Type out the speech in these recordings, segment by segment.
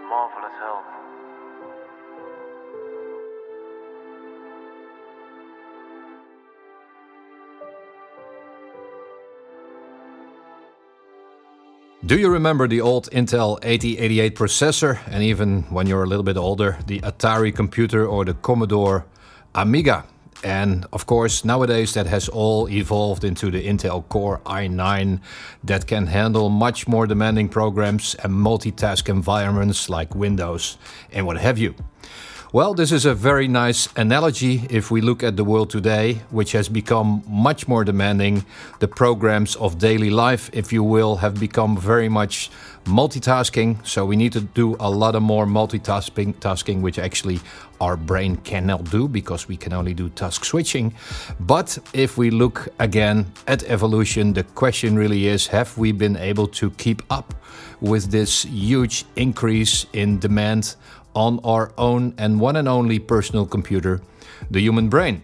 marvelous health. Do you remember the old Intel 8088 processor, and even when you're a little bit older, the Atari computer or the Commodore Amiga? And of course, nowadays that has all evolved into the Intel Core i9 that can handle much more demanding programs and multitask environments like Windows and what have you. Well, this is a very nice analogy if we look at the world today, which has become much more demanding. The programs of daily life, if you will, have become very much multitasking. So we need to do a lot of more multitasking, which actually our brain cannot do because we can only do task switching. But if we look again at evolution, the question really is, have we been able to keep up with this huge increase in demand on our own and one and only personal computer, the human brain?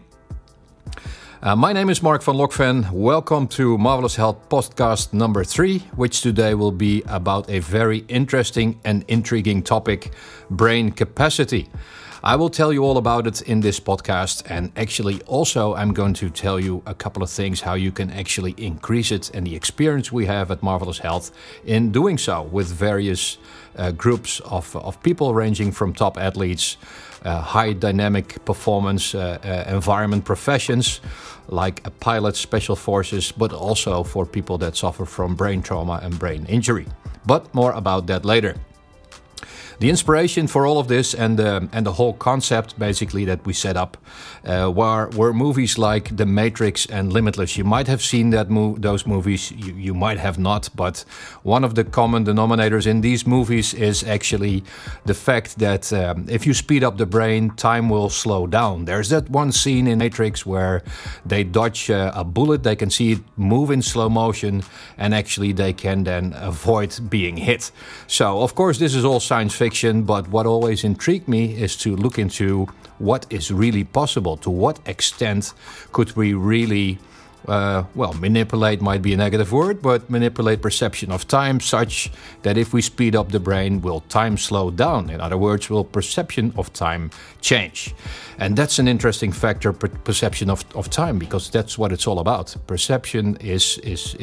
My name is Mark van Lokven. Welcome to Marvelous Health podcast number 3, which today will be about a very interesting and intriguing topic, brain capacity. I will tell you all about it in this podcast, and actually also I'm going to tell you a couple of things how you can actually increase it and the experience we have at Marvelous Health in doing so with various groups of people ranging from top athletes, high dynamic performance environment professions like pilots, special forces, but also for people that suffer from brain trauma and brain injury. But more about that later. The inspiration for all of this and the whole concept basically that we set up were movies like The Matrix and Limitless. You might have seen those movies, you might have not, but one of the common denominators in these movies is actually the fact that if you speed up the brain, time will slow down. There's that one scene in Matrix where they dodge a bullet, they can see it move in slow motion, and actually they can then avoid being hit. So of course this is all science fiction, but what always intrigued me is to look into what is really possible. To what extent could we really, manipulate might be a negative word, but manipulate perception of time such that if we speed up the brain, will time slow down? In other words, will perception of time change? And that's an interesting factor, perception of time, because that's what it's all about. Perception is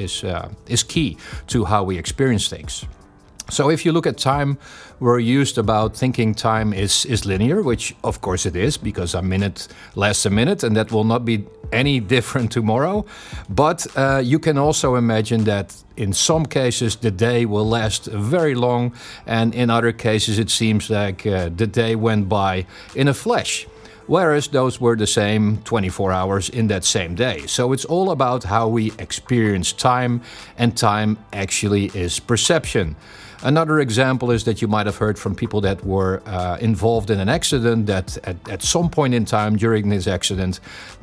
key to how we experience things. So if you look at time, we're used about thinking time is linear, which of course it is, because a minute lasts a minute, and that will not be any different tomorrow. But you can also imagine that in some cases the day will last very long, and in other cases it seems like the day went by in a flash. Whereas those were the same 24 hours in that same day. So it's all about how we experience time, and time actually is perception. Another example is that you might have heard from people that were involved in an accident that at some point in time during this accident,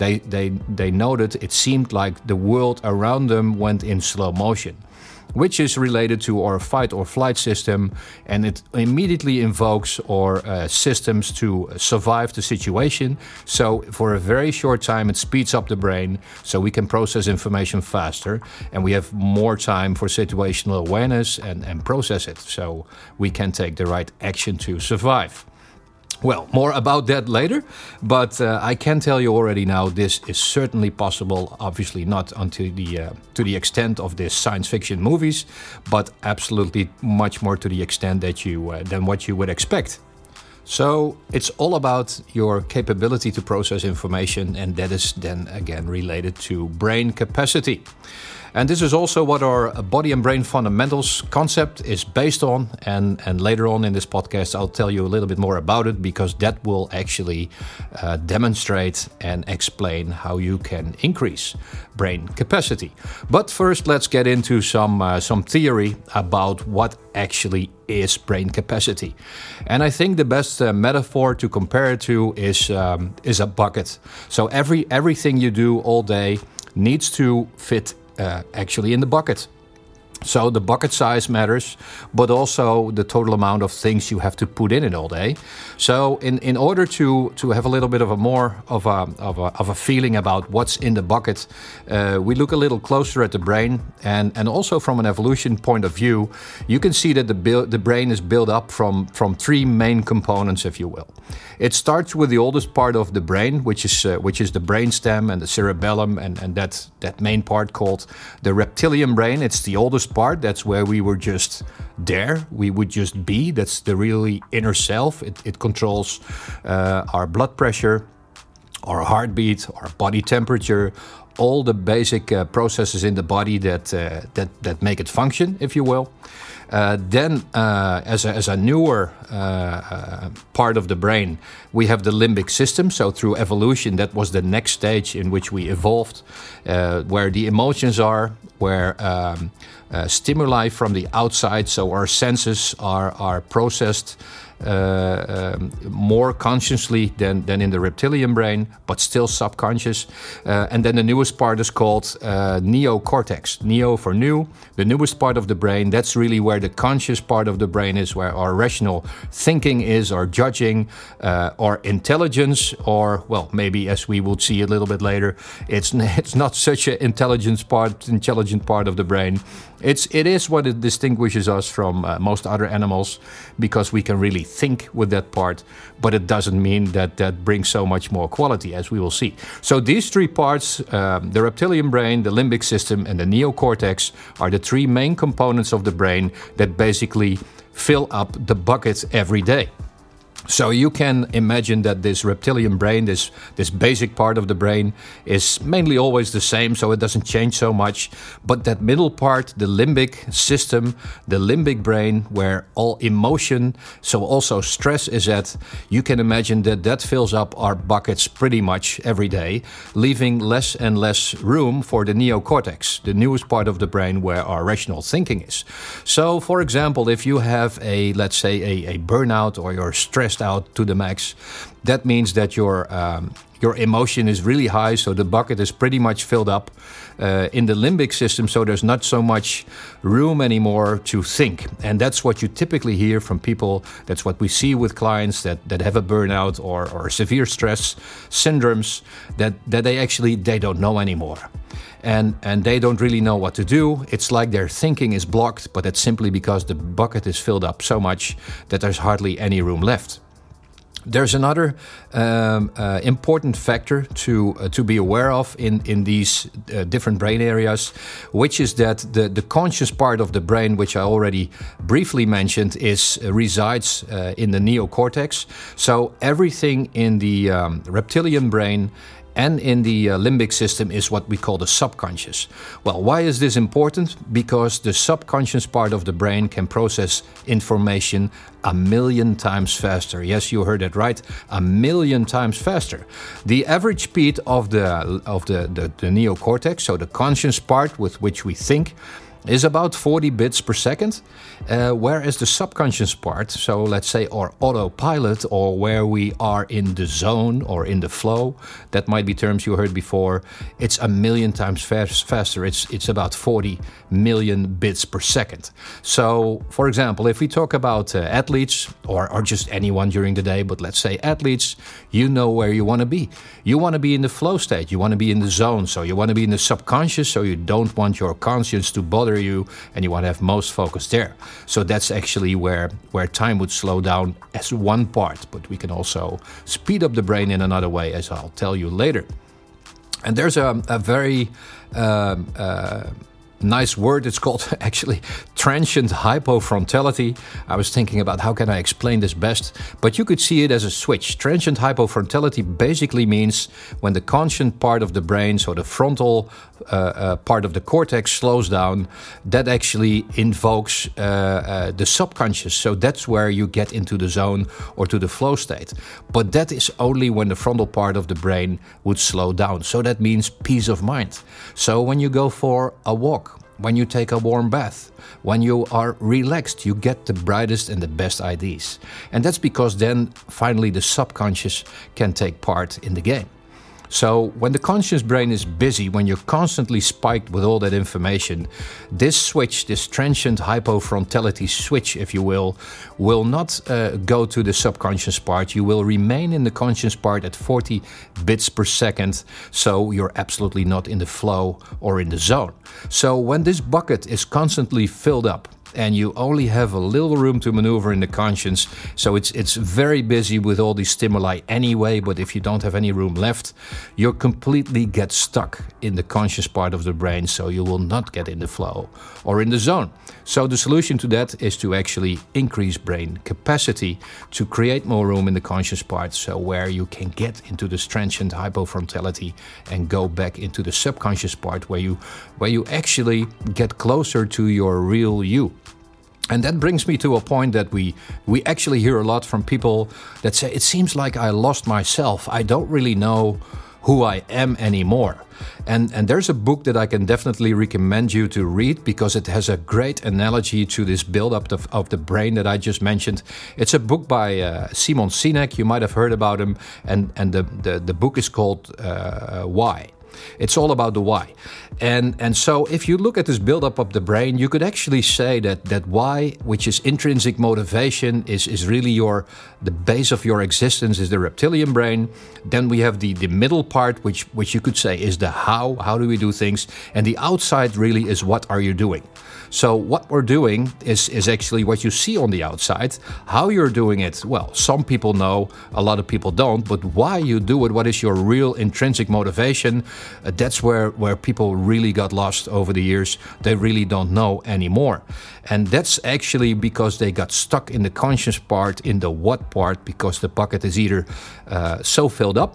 they noted it seemed like the world around them went in slow motion, which is related to our fight or flight system, and it immediately invokes our systems to survive the situation. So for a very short time it speeds up the brain so we can process information faster, and we have more time for situational awareness and process it so we can take the right action to survive. Well, more about that later, but I can tell you already now this is certainly possible, obviously not until to the extent of these science fiction movies, but absolutely much more to the extent that than what you would expect. So it's all about your capability to process information, and that is then again related to brain capacity. And this is also what our body and brain fundamentals concept is based on. And later on in this podcast, I'll tell you a little bit more about it, because that will actually demonstrate and explain how you can increase brain capacity. But first, let's get into some theory about what actually is brain capacity. And I think the best metaphor to compare it to is a bucket. So everything you do all day needs to fit actually in the bucket. So the bucket size matters, but also the total amount of things you have to put in it all day. So in order to have a little bit of a more of a feeling about what's in the bucket, we look a little closer at the brain, and also from an evolution point of view, you can see that the brain is built up from three main components, if you will. It starts with the oldest part of the brain, which is the brainstem and the cerebellum, and that main part called the reptilian brain. It's the oldest part. That's where we were just there. We would just be. That's the really inner self. It controls our blood pressure, our heartbeat, our body temperature, all the basic processes in the body that make it function, if you will. Then, as a newer part of the brain, we have the limbic system. So through evolution, that was the next stage in which we evolved, where the emotions are, where stimuli from the outside, so our senses are processed more consciously than in the reptilian brain, but still subconscious. And then the newest part is called neocortex. Neo for new, the newest part of the brain. That's really where the conscious part of the brain is, where our rational thinking is, our judging, our intelligence, or, well, maybe as we will see a little bit later, it's not such an intelligent part of the brain. It is what it distinguishes us from most other animals, because we can really think with that part, but it doesn't mean that brings so much more quality, as we will see. So these three parts, the reptilian brain, the limbic system, and the neocortex, are the three main components of the brain that basically fill up the bucket every day. So you can imagine that this reptilian brain, this basic part of the brain, is mainly always the same, so it doesn't change so much. But that middle part, the limbic system, the limbic brain, where all emotion, so also stress is at, you can imagine that fills up our buckets pretty much every day, leaving less and less room for the neocortex, the newest part of the brain where our rational thinking is. So, for example, if you have let's say a burnout, or you're stressed out to the max, that means that your emotion is really high, so the bucket is pretty much filled up in the limbic system, so there's not so much room anymore to think. And that's what you typically hear from people. That's what we see with clients that have a burnout or severe stress syndromes, that they don't know anymore. And they don't really know what to do. It's like their thinking is blocked, but it's simply because the bucket is filled up so much that there's hardly any room left. There's another important factor to be aware of in these different brain areas, which is that the conscious part of the brain, which I already briefly mentioned, resides in the neocortex. So everything in the reptilian brain and in the limbic system is what we call the subconscious. Well, why is this important? Because the subconscious part of the brain can process information 1,000,000 times faster. Yes, you heard it right, 1,000,000 times faster. The average speed of the neocortex, so the conscious part with which we think, is about 40 bits per second, whereas the subconscious part, so let's say our autopilot, or where we are in the zone or in the flow, that might be terms you heard before, it's 1,000,000 times faster. It's about 40 million bits per second. So, for example, if we talk about athletes, or just anyone during the day, but let's say athletes, you know where you want to be. You want to be in the flow state. You want to be in the zone. So you want to be in the subconscious, so you don't want your conscience to bother you, and you want to have most focus there. So that's actually where time would slow down as one part, but we can also speed up the brain in another way, as I'll tell you later. And there's a very nice word. It's called actually transient hypofrontality. I was thinking about how can I explain this best, but you could see it as a switch. Transient hypofrontality basically means when the conscious part of the brain, so the frontal part of the cortex, slows down, that actually invokes the subconscious. So that's where you get into the zone or to the flow state. But that is only when the frontal part of the brain would slow down. So that means peace of mind. So when you go for a walk, when you take a warm bath, when you are relaxed, you get the brightest and the best ideas. And that's because then finally the subconscious can take part in the game. So when the conscious brain is busy, when you're constantly spiked with all that information, this switch, this transient hypofrontality switch, if you will not go to the subconscious part. You will remain in the conscious part at 40 bits per second, so you're absolutely not in the flow or in the zone. So when this bucket is constantly filled up, and you only have a little room to maneuver in the conscience. So it's very busy with all these stimuli anyway, but if you don't have any room left, you completely get stuck in the conscious part of the brain, so you will not get in the flow or in the zone. So the solution to that is to actually increase brain capacity to create more room in the conscious part, so where you can get into this transient hypofrontality and go back into the subconscious part where you actually get closer to your real you. And that brings me to a point that we actually hear a lot from people that say, it seems like I lost myself. I don't really know who I am anymore. And there's a book that I can definitely recommend you to read because it has a great analogy to this build-up of the brain that I just mentioned. It's a book by Simon Sinek. You might have heard about him. And the book is called Why. It's all about the why. And so if you look at this buildup of the brain, you could actually say that why, which is intrinsic motivation, is really the base of your existence, is the reptilian brain. Then we have the middle part, which you could say is the how do we do things? And the outside really is what are you doing? So what we're doing is actually what you see on the outside. How you're doing it, well, some people know, a lot of people don't, but why you do it, what is your real intrinsic motivation, that's where people really got lost over the years. They really don't know anymore. And that's actually because they got stuck in the conscious part, in the what part, because the bucket is either so filled up,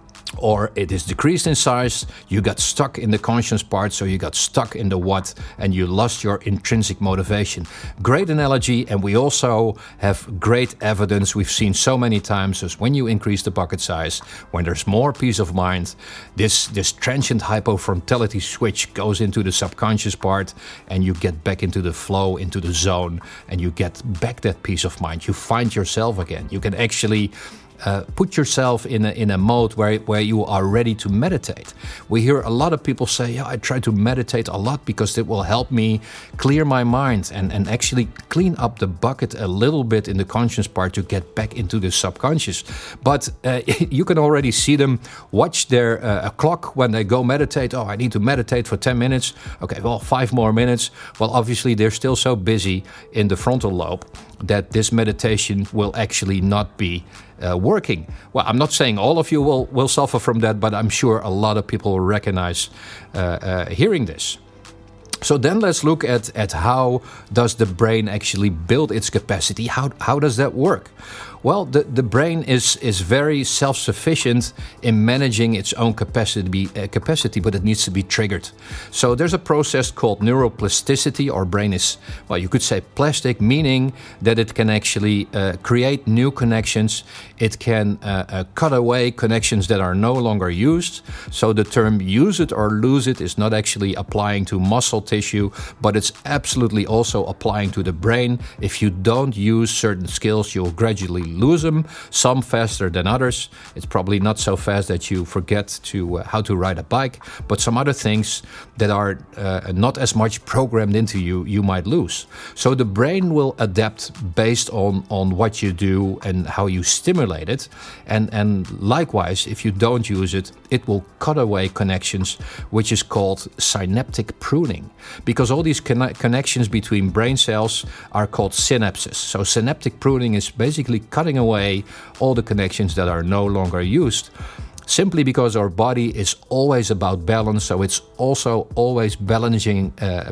or it is decreased in size. You got stuck in the conscious part, so you got stuck in the what, and you lost your intrinsic motivation. Great analogy, and we also have great evidence we've seen so many times, is when you increase the bucket size, when there's more peace of mind, this transient hypofrontality switch goes into the subconscious part, and you get back into the flow, into the zone, and you get back that peace of mind. You find yourself again. You can actually put yourself in a mode where you are ready to meditate. We hear a lot of people say, yeah, I try to meditate a lot because it will help me clear my mind and actually clean up the bucket a little bit in the conscious part to get back into the subconscious. But you can already see them watch their clock when they go meditate. Oh, I need to meditate for 10 minutes. Okay, well, 5 more minutes. Well, obviously, they're still so busy in the frontal lobe that this meditation will actually not be working. Well, I'm not saying all of you will suffer from that, but I'm sure a lot of people will recognize hearing this. So then let's look at how does the brain actually build its capacity? How does that work? Well, the brain is very self-sufficient in managing its own capacity, but it needs to be triggered. So there's a process called neuroplasticity. Our brain is, well, you could say plastic, meaning that it can actually create new connections. It can cut away connections that are no longer used. So the term use it or lose it is not actually applying to muscle tissue, but it's absolutely also applying to the brain. If you don't use certain skills, you'll gradually lose them, some faster than others. It's probably not so fast that you forget how to ride a bike, but some other things that are not as much programmed into you might lose. So the brain will adapt based on what you do and how you stimulate it. And likewise, if you don't use it, it will cut away connections, which is called synaptic pruning. Because all these connections between brain cells are called synapses. So synaptic pruning is basically cutting away all the connections that are no longer used, simply because our body is always about balance. So it's also always balancing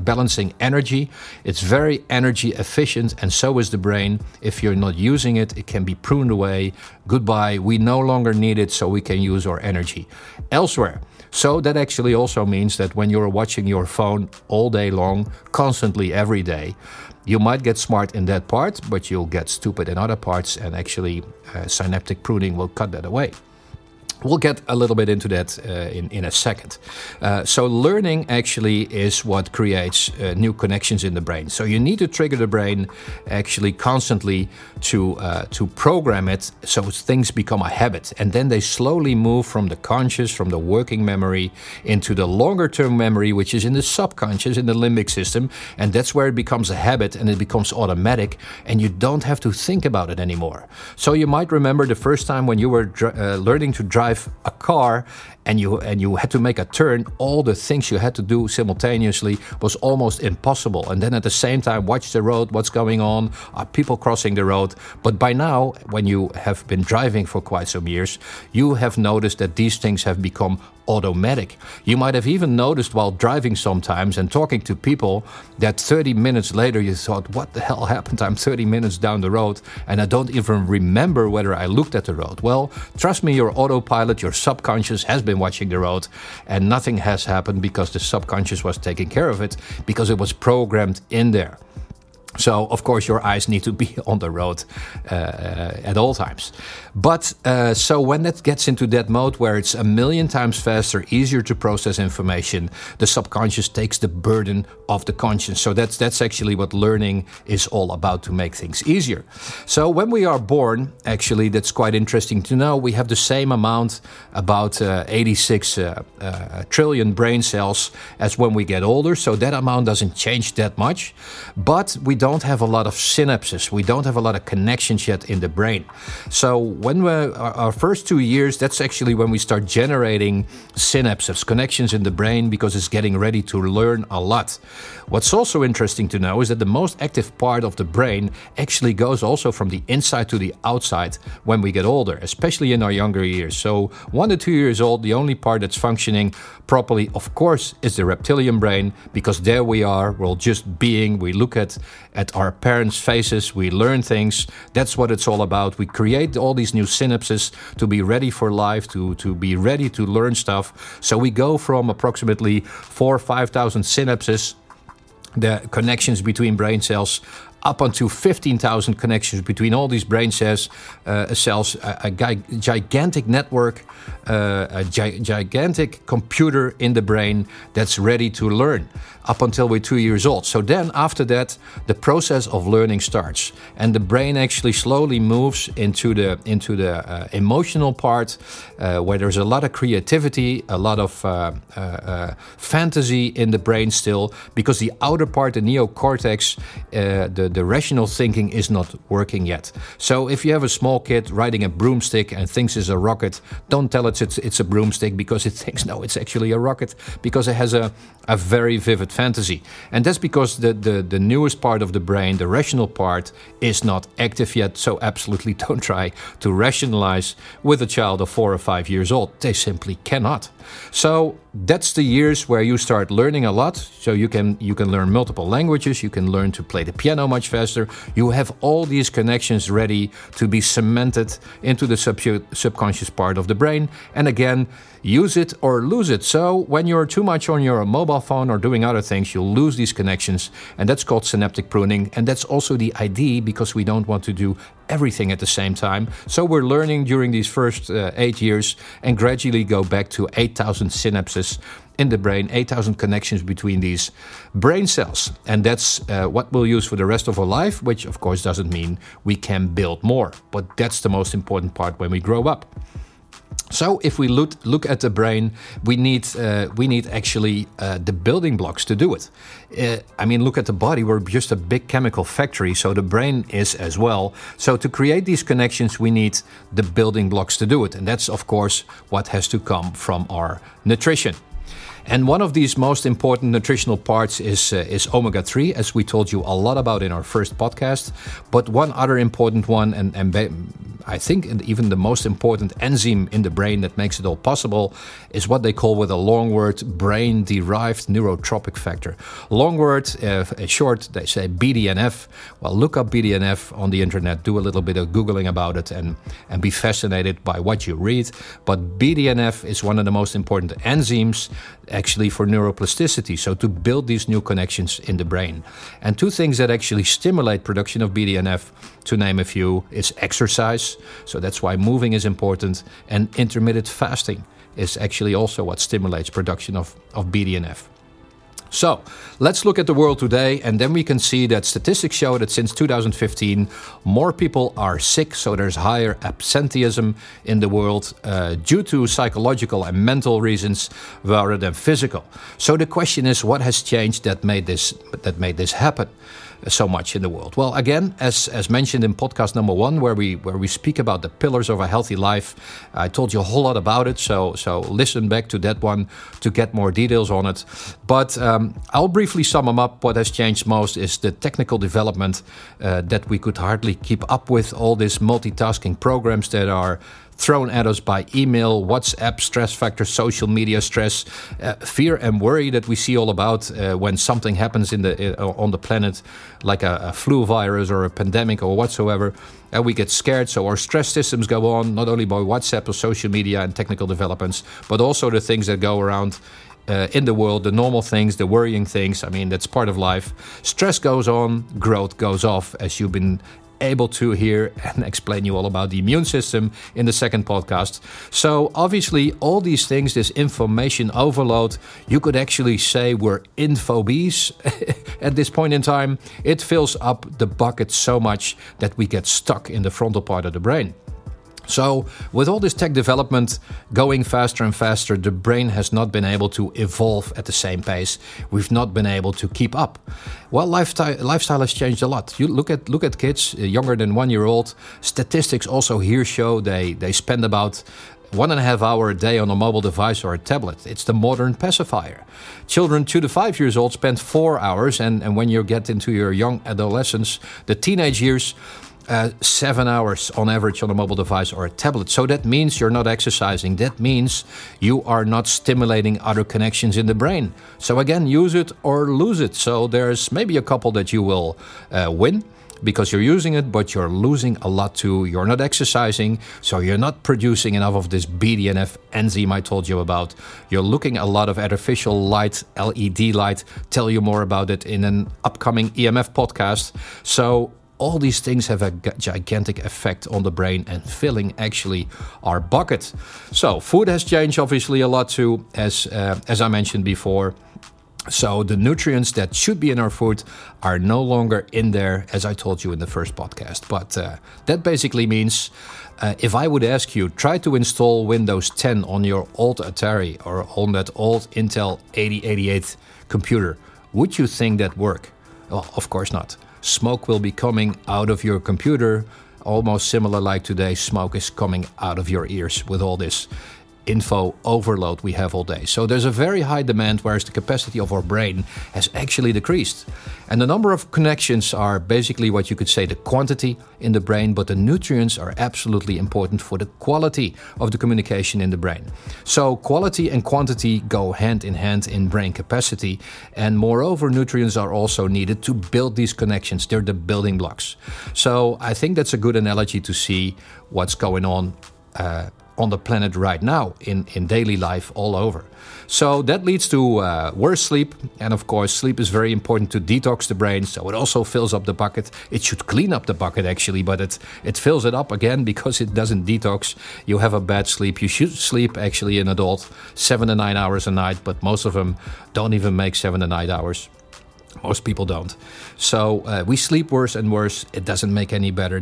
energy. It's very energy efficient, and so is the brain. If you're not using it, it can be pruned away. Goodbye, we no longer need it, so we can use our energy elsewhere. So that actually also means that when you're watching your phone all day long, constantly every day, you might get smart in that part, but you'll get stupid in other parts, and actually synaptic pruning will cut that away. We'll get a little bit into that in a second. So learning actually is what creates new connections in the brain. So you need to trigger the brain actually constantly to program it so things become a habit. And then they slowly move from the conscious, from the working memory, into the longer term memory, which is in the subconscious, in the limbic system. And that's where it becomes a habit and it becomes automatic and you don't have to think about it anymore. So you might remember the first time when you were learning to drive a car and you had to make a turn, all the things you had to do simultaneously was almost impossible. And then at the same time, watch the road, what's going on, are people crossing the road? But by now, when you have been driving for quite some years, you have noticed that these things have become automatic. You might have even noticed while driving sometimes and talking to people that 30 minutes later you thought, what the hell happened? I'm 30 minutes down the road and I don't even remember whether I looked at the road. Well, trust me, your autopilot, your subconscious has been watching the road and nothing has happened because the subconscious was taking care of it because it was programmed in there. So, of course, your eyes need to be on the road at all times. But so when that gets into that mode where it's a million times faster, easier to process information, the subconscious takes the burden of the conscious. So that's actually what learning is all about, to make things easier. So when we are born, actually, that's quite interesting to know. We have the same amount, about 86 trillion brain cells as when we get older. So that amount doesn't change that much. But we don't have a lot of synapses. We don't have a lot of connections yet in the brain. So when our first 2 years, that's actually when we start generating synapses, connections in the brain, because it's getting ready to learn a lot. What's also interesting to know is that the most active part of the brain actually goes also from the inside to the outside when we get older, especially in our younger years. So 1 to 2 years old, the only part that's functioning properly, of course, is the reptilian brain, because there we are, we're just being, we look at our parents' faces, we learn things. That's what it's all about. We create all these new synapses to be ready for life, to be ready to learn stuff. So we go from approximately 4,000 or 5,000 synapses, the connections between brain cells, up onto 15,000 connections between all these brain cells, a gigantic network, a gigantic computer in the brain that's ready to learn up until we're 2 years old. So then after that, the process of learning starts. And the brain actually slowly moves into the emotional part, where there's a lot of creativity, a lot of fantasy in the brain still, because the outer part, the neocortex, the rational thinking is not working yet. So if you have a small kid riding a broomstick and thinks it's a rocket, don't tell it it's a broomstick, because it thinks, no, it's actually a rocket, because it has a very vivid fantasy. And that's because the newest part of the brain, the rational part, is not active yet. So absolutely don't try to rationalize with a child of 4 or 5 years old. They simply cannot. So that's the years where you start learning a lot. So you can learn multiple languages, you can learn to play the piano much faster. You have all these connections ready to be cemented into the subconscious part of the brain. And again, use it or lose it. So when you're too much on your mobile phone or doing other things, you'll lose these connections. And that's called synaptic pruning. And that's also the idea, because we don't want to do everything at the same time. So we're learning during these first 8 years and gradually go back to 8,000 synapses in the brain, 8,000 connections between these brain cells. And that's what we'll use for the rest of our life, which of course doesn't mean we can build more. But that's the most important part when we grow up. So if we look at the brain, we need actually the building blocks to do it. Look at the body. We're just a big chemical factory, so the brain is as well. So to create these connections, we need the building blocks to do it. And that's, of course, what has to come from our nutrition. And one of these most important nutritional parts is omega-3, as we told you a lot about in our first podcast. But one other important one, and I think even the most important enzyme in the brain that makes it all possible, is what they call, with a long word, brain-derived neurotrophic factor. Long word, short, they say BDNF. Well, look up BDNF on the internet, do a little bit of Googling about it, and be fascinated by what you read. But BDNF is one of the most important enzymes, actually for neuroplasticity, so to build these new connections in the brain. And two things that actually stimulate production of BDNF, to name a few, is exercise, so that's why moving is important, and intermittent fasting is actually also what stimulates production of BDNF. So let's look at the world today, and then we can see that statistics show that since 2015, more people are sick, so there's higher absenteeism in the world due to psychological and mental reasons rather than physical. So the question is, what has changed that made this happen so much in the world? Well, again, as mentioned in podcast number 1, where we speak about the pillars of a healthy life, I told you a whole lot about it, so listen back to that one to get more details on it. But I'll briefly sum them up. What has changed most is the technical development that we could hardly keep up with, all these multitasking programs that are thrown at us by email, WhatsApp, stress factors, social media stress, fear and worry that we see all about when something happens on the planet, like a flu virus or a pandemic or whatsoever. We get scared, so our stress systems go on, not only by WhatsApp or social media and technical developments, but also the things that go around in the world, the normal things, the worrying things. I mean, that's part of life. Stress goes on, growth goes off, as you've been able to hear and explain you all about the immune system in the second podcast. So obviously all these things, this information overload, you could actually say we're infobese at this point in time. It fills up the bucket so much that we get stuck in the frontal part of the brain. So with all this tech development going faster and faster, the brain has not been able to evolve at the same pace. We've not been able to keep up. Well, lifestyle has changed a lot. You look at kids younger than 1 year old. Statistics also here show they spend about 1.5 hours a day on a mobile device or a tablet. It's the modern pacifier. Children 2 to 5 years old spend 4 hours, and when you get into your young adolescence, the teenage years, 7 hours on average on a mobile device or a tablet. So that means you're not exercising. That means you are not stimulating other connections in the brain. So again, use it or lose it. So there's maybe a couple that you will win because you're using it, but you're losing a lot too. You're not exercising, so you're not producing enough of this BDNF enzyme I told you about. You're looking a lot of artificial light, LED light. Tell you more about it in an upcoming EMF podcast. So all these things have a gigantic effect on the brain and filling actually our bucket. So food has changed obviously a lot too, as I mentioned before. So the nutrients that should be in our food are no longer in there, as I told you in the first podcast. But that basically means if I would ask you, try to install Windows 10 on your old Atari or on that old Intel 8088 computer, would you think that work? Well, of course not. Smoke will be coming out of your computer, almost similar like today, smoke is coming out of your ears with all this info overload we have all day. So there's a very high demand, whereas the capacity of our brain has actually decreased. And the number of connections are basically what you could say the quantity in the brain, but the nutrients are absolutely important for the quality of the communication in the brain. So quality and quantity go hand in hand in brain capacity, and moreover, nutrients are also needed to build these connections. They're the building blocks. So I think that's a good analogy to see what's going on the planet right now in daily life all over. So that leads to worse sleep. And of course, sleep is very important to detox the brain. So it also fills up the bucket. It should clean up the bucket actually, but it fills it up again because it doesn't detox. You have a bad sleep. You should sleep actually an adult 7 to 9 hours a night, but most of them don't even make 7 to 9 hours. Most people don't. So we sleep worse and worse. It doesn't make any better.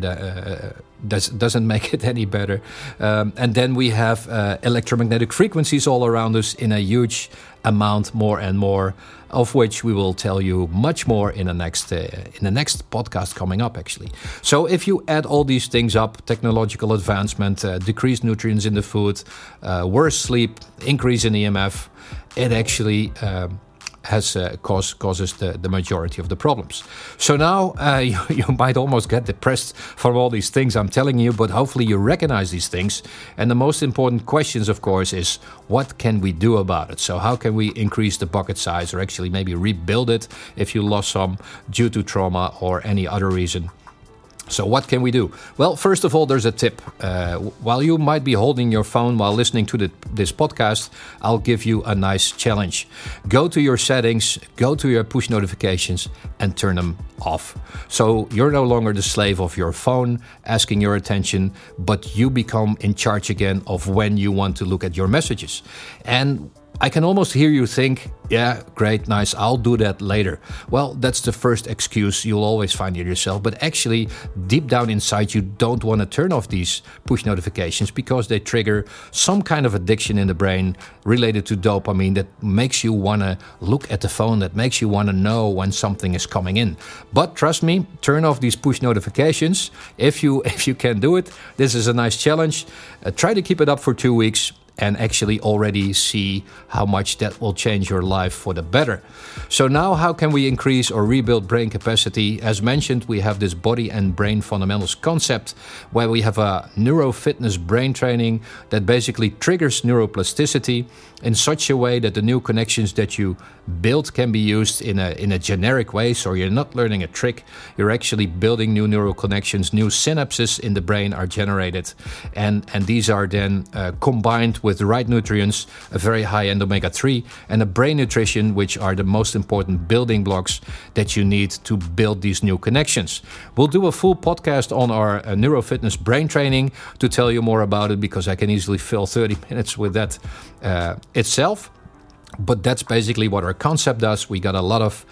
Doesn't make it any better. And then we have electromagnetic frequencies all around us in a huge amount, more and more, of which we will tell you much more in the next podcast coming up, actually. So if you add all these things up, technological advancement, decreased nutrients in the food, worse sleep, increase in EMF, it actually causes the majority of the problems. So now you might almost get depressed from all these things I'm telling you, but hopefully you recognize these things. And the most important questions, of course, is what can we do about it? So how can we increase the bucket size or actually maybe rebuild it if you lost some due to trauma or any other reason? So what can we do? Well, first of all, there's a tip. While you might be holding your phone while listening to this podcast, I'll give you a nice challenge. Go to your settings, go to your push notifications, and turn them off. So you're no longer the slave of your phone asking your attention, but you become in charge again of when you want to look at your messages. And I can almost hear you think, yeah, great, nice, I'll do that later. Well, that's the first excuse you'll always find in yourself. But actually, deep down inside, you don't want to turn off these push notifications because they trigger some kind of addiction in the brain related to dopamine that makes you want to look at the phone, that makes you want to know when something is coming in. But trust me, turn off these push notifications. If you can do it, this is a nice challenge. Try to keep it up for 2 weeks. And actually already see how much that will change your life for the better. So now how can we increase or rebuild brain capacity? As mentioned, we have this body and brain fundamentals concept where we have a neurofitness brain training that basically triggers neuroplasticity in such a way that the new connections that you build can be used in a generic way. So you're not learning a trick, you're actually building new neural connections, new synapses in the brain are generated. And these are then combined with the right nutrients, a very high end omega-3, and a brain nutrition, which are the most important building blocks that you need to build these new connections. We'll do a full podcast on our neurofitness brain training to tell you more about it, because I can easily fill 30 minutes with that itself. But that's basically what our concept does. We got a lot of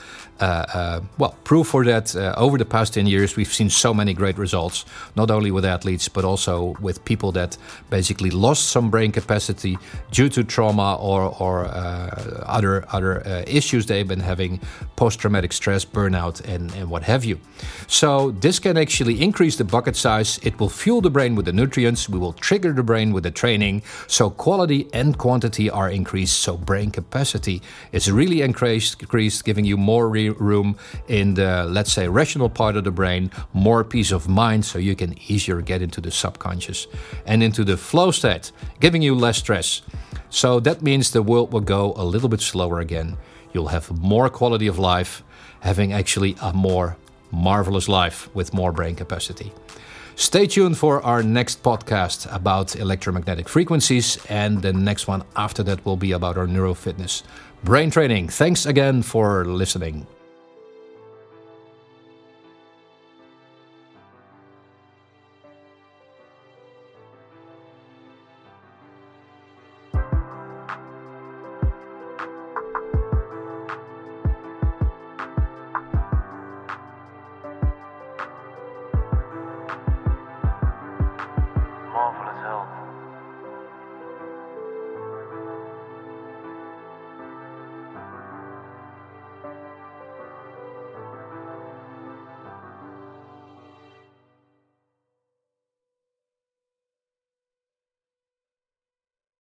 proof for that. Over the past 10 years, we've seen so many great results, not only with athletes, but also with people that basically lost some brain capacity due to trauma or other issues they've been having, post-traumatic stress, burnout, and what have you. So this can actually increase the bucket size. It will fuel the brain with the nutrients. We will trigger the brain with the training. So quality and quantity are increased. So brain capacity is really increased, giving you more room in the, let's say, rational part of the brain, more peace of mind, so you can easier get into the subconscious and into the flow state, giving you less stress. So that means the world will go a little bit slower again. You'll have more quality of life, having actually a more marvelous life with more brain capacity. Stay tuned for our next podcast about electromagnetic frequencies, and the next one after that will be about our neurofitness brain training. Thanks again for listening.